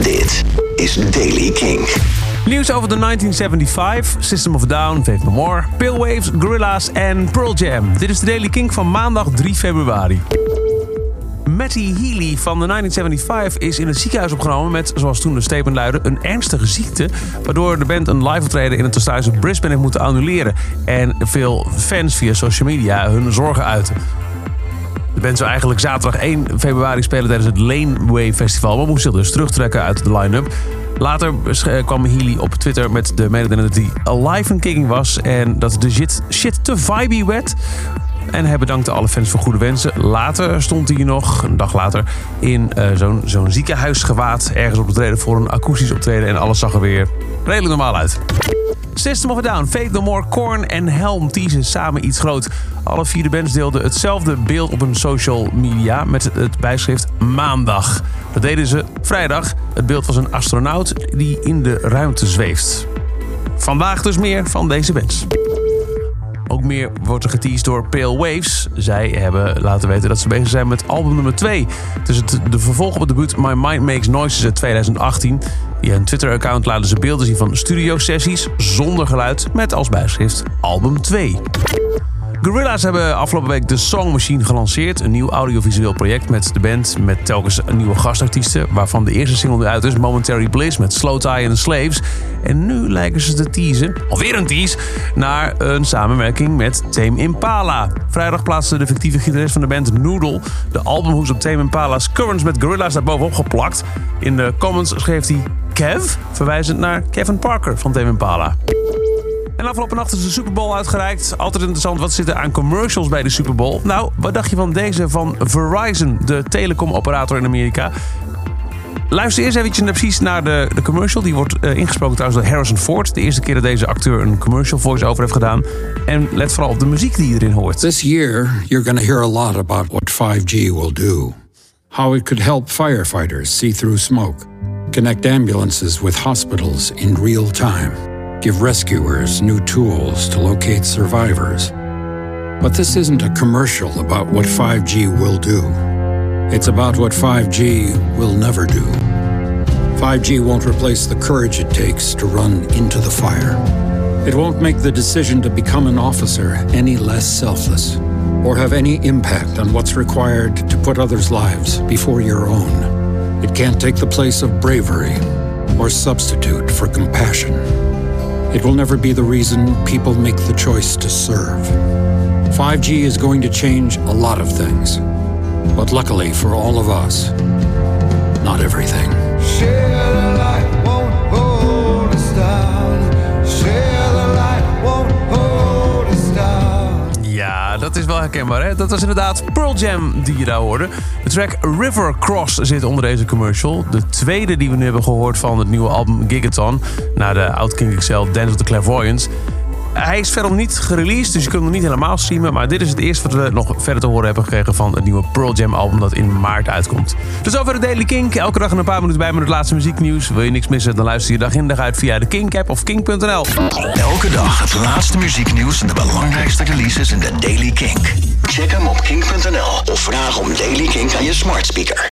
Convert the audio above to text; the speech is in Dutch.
Dit is Daily Kink. Nieuws over de 1975, System of a Down, Faith No More, Pale Waves, Gorillaz en Pearl Jam. Dit is de Daily Kink van maandag 3 februari. Matty Healy van de 1975 is in het ziekenhuis opgenomen met, zoals toen de statement luidde, een ernstige ziekte, waardoor de band een live optreden in het thuishuis Brisbane heeft moeten annuleren. En veel fans via social media hun zorgen uiten. De band zou eigenlijk zaterdag 1 februari spelen tijdens het Laneway Festival, maar moest zich dus terugtrekken uit de line-up. Later kwam Healy op Twitter met de mededeling dat hij alive en kicking was en dat de shit te vibey werd. En hij bedankte alle fans voor goede wensen. Later stond hij nog, een dag later, in zo'n ziekenhuisgewaad ergens op te treden voor een akoestisch optreden. En alles zag er weer redelijk normaal uit. System of a Down, Faith No More, Korn en Helm teasen samen iets groot. Alle 4 de bands deelden hetzelfde beeld op hun social media met het bijschrift maandag. Dat deden ze vrijdag. Het beeld was een astronaut die in de ruimte zweeft. Vandaag dus meer van deze bands. Ook meer wordt er geteased door Pale Waves. Zij hebben laten weten dat ze bezig zijn met album nummer 2. Het is de vervolg op het debuut My Mind Makes Noises uit 2018. Via hun Twitter-account laten ze beelden zien van studiosessies zonder geluid met als bijschrift album 2. Gorillaz hebben afgelopen week de Song Machine gelanceerd. Een nieuw audiovisueel project met de band met telkens nieuwe gastartiesten, waarvan de eerste single nu uit is, Momentary Bliss met Slow Tie and the Slaves. En nu lijken ze te teasen, alweer een tease, naar een samenwerking met Tame Impala. Vrijdag plaatste de fictieve gitarist van de band Noodle de albumhoes op Tame Impala's Currents met Gorillaz daarbovenop geplakt. In de comments schreef hij Kev, verwijzend naar Kevin Parker van Tame Impala. En afgelopen nacht is de Super Bowl uitgereikt. Altijd interessant, wat zit er aan commercials bij de Super Bowl? Nou, wat dacht je van deze van Verizon, de telecomoperator in Amerika? Luister eerst eventjes precies naar de commercial. Die wordt ingesproken trouwens door Harrison Ford. De eerste keer dat deze acteur een commercial voice-over heeft gedaan. En let vooral op de muziek die je erin hoort. This year, you're going to hear a lot about what 5G will do. How it could help firefighters see through smoke. Connect ambulances with hospitals in real time. Give rescuers new tools to locate survivors. But this isn't a commercial about what 5G will do. It's about what 5G will never do. 5G won't replace the courage it takes to run into the fire. It won't make the decision to become an officer any less selfless, or have any impact on what's required to put others' lives before your own. It can't take the place of bravery or substitute for compassion. It will never be the reason people make the choice to serve. 5G is going to change a lot of things. But luckily for all of us, not everything. Share the light, won't hold us down. Share the light, won't hold us down. Ja, dat is wel herkenbaar, hè? Dat was inderdaad Pearl Jam die je daar hoorde. De track River Cross zit onder deze commercial. De tweede die we nu hebben gehoord van het nieuwe album Gigaton. Na de Outkink XL Dance of the Clairvoyants. Hij is verder niet gereleased, dus je kunt hem nog niet helemaal streamen. Maar dit is het eerste wat we nog verder te horen hebben gekregen van het nieuwe Pearl Jam album dat in maart uitkomt. Dus over de Daily Kink. Elke dag een paar minuten bij met het laatste muzieknieuws. Wil je niks missen, dan luister je dag in dag uit via de Kink-app of kink.nl. Elke dag het laatste muzieknieuws en de belangrijkste releases in de Daily Kink. Check hem op kink.nl of vraag om Daily Kink aan je smart speaker.